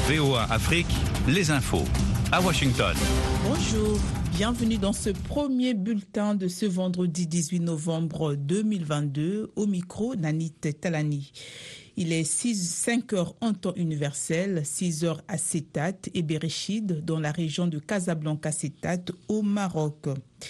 VOA Afrique, les infos. À Washington. Bonjour, bienvenue dans ce premier bulletin de ce vendredi 18 novembre 2022. Au micro, Nanit Talani. Il est 5 heures en temps universel, 6 heures à Setat et Bereshid, dans la région de Casablanca-Setat, au Maroc.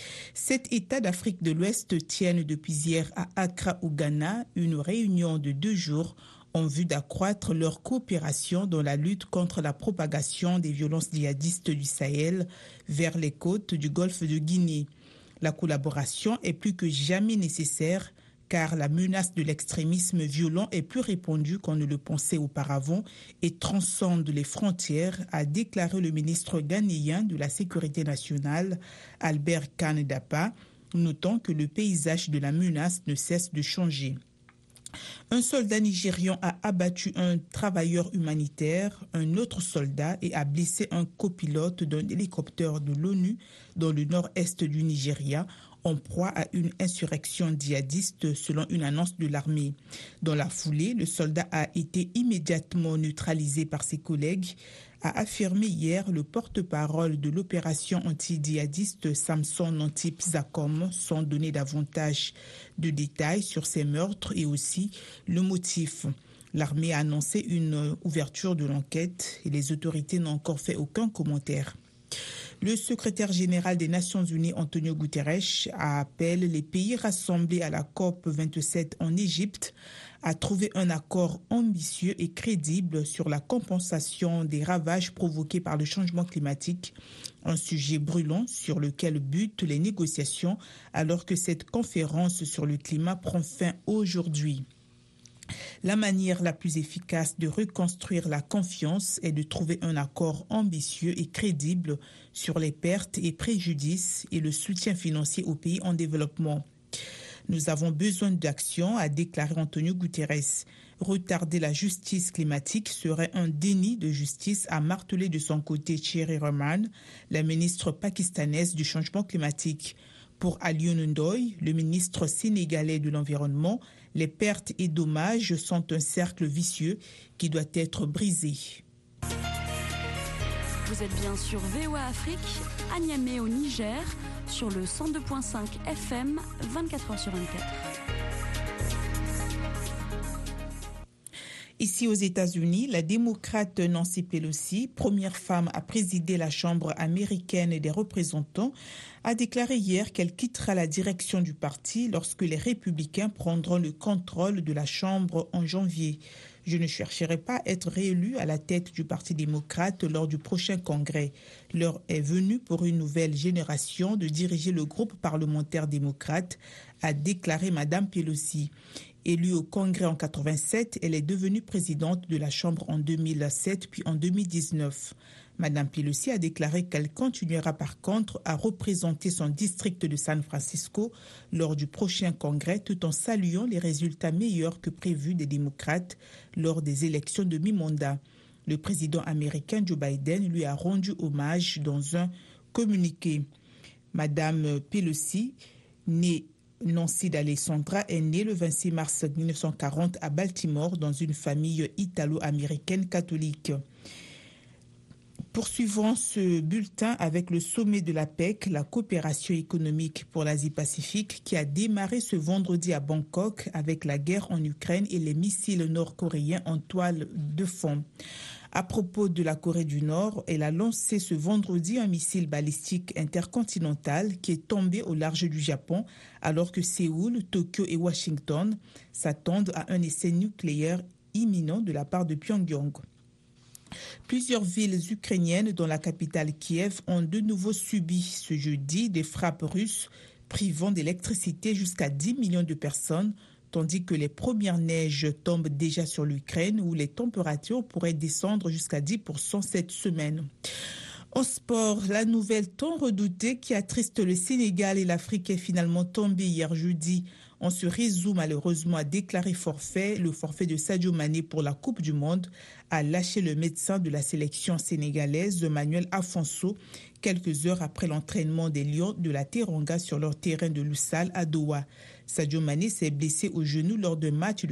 7 États d'Afrique de l'Ouest tiennent depuis hier à Accra, au Ghana, une réunion de 2 jours en vue d'accroître leur coopération dans la lutte contre la propagation des violences djihadistes du Sahel vers les côtes du golfe de Guinée. La collaboration est plus que jamais nécessaire car la menace de l'extrémisme violent est plus répandue qu'on ne le pensait auparavant et transcende les frontières, a déclaré le ministre ghanéen de la Sécurité nationale, Albert Kane Dapa, notant que le paysage de la menace ne cesse de changer. Un soldat nigérian a abattu un travailleur humanitaire, un autre soldat et a blessé un copilote d'un hélicoptère de l'ONU dans le nord-est du Nigeria, en proie à une insurrection djihadiste selon une annonce de l'armée. Dans la foulée, le soldat a été immédiatement neutralisé par ses collègues, a affirmé hier le porte-parole de l'opération anti-djihadiste Samson Nantip Zakom, sans donner davantage de détails sur ces meurtres et aussi le motif. L'armée a annoncé une ouverture de l'enquête et les autorités n'ont encore fait aucun commentaire. Le secrétaire général des Nations Unies, Antonio Guterres, appelle les pays rassemblés à la COP 27 en Égypte à trouver un accord ambitieux et crédible sur la compensation des ravages provoqués par le changement climatique, un sujet brûlant sur lequel butent les négociations alors que cette conférence sur le climat prend fin aujourd'hui. La manière la plus efficace de reconstruire la confiance est de trouver un accord ambitieux et crédible sur les pertes et préjudices et le soutien financier aux pays en développement. Nous avons besoin d'action, a déclaré Antonio Guterres. Retarder la justice climatique serait un déni de justice, a martelé de son côté Thierry Rahman, la ministre pakistanaise du changement climatique. Pour Alioune Ndoye, le ministre sénégalais de l'Environnement, les pertes et dommages sont un cercle vicieux qui doit être brisé. Vous êtes bien sur VOA Afrique, à Niamey au Niger, sur le 102.5 FM, 24h sur 24. Ici aux États-Unis, la démocrate Nancy Pelosi, première femme à présider la Chambre américaine des représentants, a déclaré hier qu'elle quittera la direction du parti lorsque les républicains prendront le contrôle de la Chambre en janvier. Je ne chercherai pas à être réélue à la tête du Parti démocrate lors du prochain congrès. L'heure est venue pour une nouvelle génération de diriger le groupe parlementaire démocrate, a déclaré Mme Pelosi. Élue au Congrès en 87, elle est devenue présidente de la Chambre en 2007 puis en 2019. Mme Pelosi a déclaré qu'elle continuera par contre à représenter son district de San Francisco lors du prochain congrès tout en saluant les résultats meilleurs que prévus des démocrates lors des élections de mi-mandat. Le président américain Joe Biden lui a rendu hommage dans un communiqué. Mme Pelosi, née Nancy D'Alessandra, est née le 26 mars 1940 à Baltimore dans une famille italo-américaine catholique. Poursuivons ce bulletin avec le sommet de la PEC, la coopération économique pour l'Asie-Pacifique, qui a démarré ce vendredi à Bangkok avec la guerre en Ukraine et les missiles nord-coréens en toile de fond. À propos de la Corée du Nord, elle a lancé ce vendredi un missile balistique intercontinental qui est tombé au large du Japon, alors que Séoul, Tokyo et Washington s'attendent à un essai nucléaire imminent de la part de Pyongyang. Plusieurs villes ukrainiennes, dont la capitale Kiev, ont de nouveau subi ce jeudi des frappes russes, privant d'électricité jusqu'à 10 millions de personnes, tandis que les premières neiges tombent déjà sur l'Ukraine, où les températures pourraient descendre jusqu'à 10% cette semaine. En sport, la nouvelle tant redoutée qui attriste le Sénégal et l'Afrique est finalement tombée hier jeudi. On se résout malheureusement à déclarer forfait. Le forfait de Sadio Mané pour la Coupe du Monde a lâché le médecin de la sélection sénégalaise, Manuel Afonso, quelques heures après l'entraînement des Lions de la Teranga sur leur terrain de Lusail à Doha. Sadio Mané s'est blessé au genou lors d'un match de